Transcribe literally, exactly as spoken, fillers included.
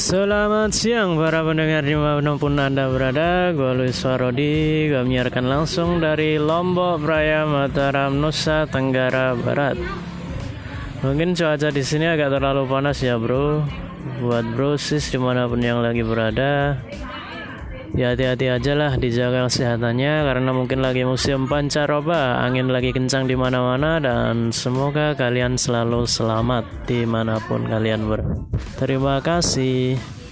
Selamat siang para pendengar dimanapun Anda berada. Gue Luis Warodi. Gue menyiarkan langsung dari Lombok Praya, Mataram, Nusa Tenggara Barat. Mungkin cuaca di sini agak terlalu panas ya bro. Buat bro sis dimanapun yang lagi berada, ya hati-hati aja lah, dijaga kesehatannya karena mungkin lagi musim pancaroba, angin lagi kencang di mana-mana, dan semoga kalian selalu selamat dimanapun kalian berada. Terima kasih.